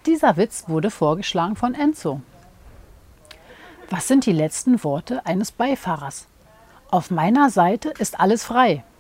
Dieser Witz wurde vorgeschlagen von Enzo. Was sind die letzten Worte eines Beifahrers? Auf meiner Seite ist alles frei.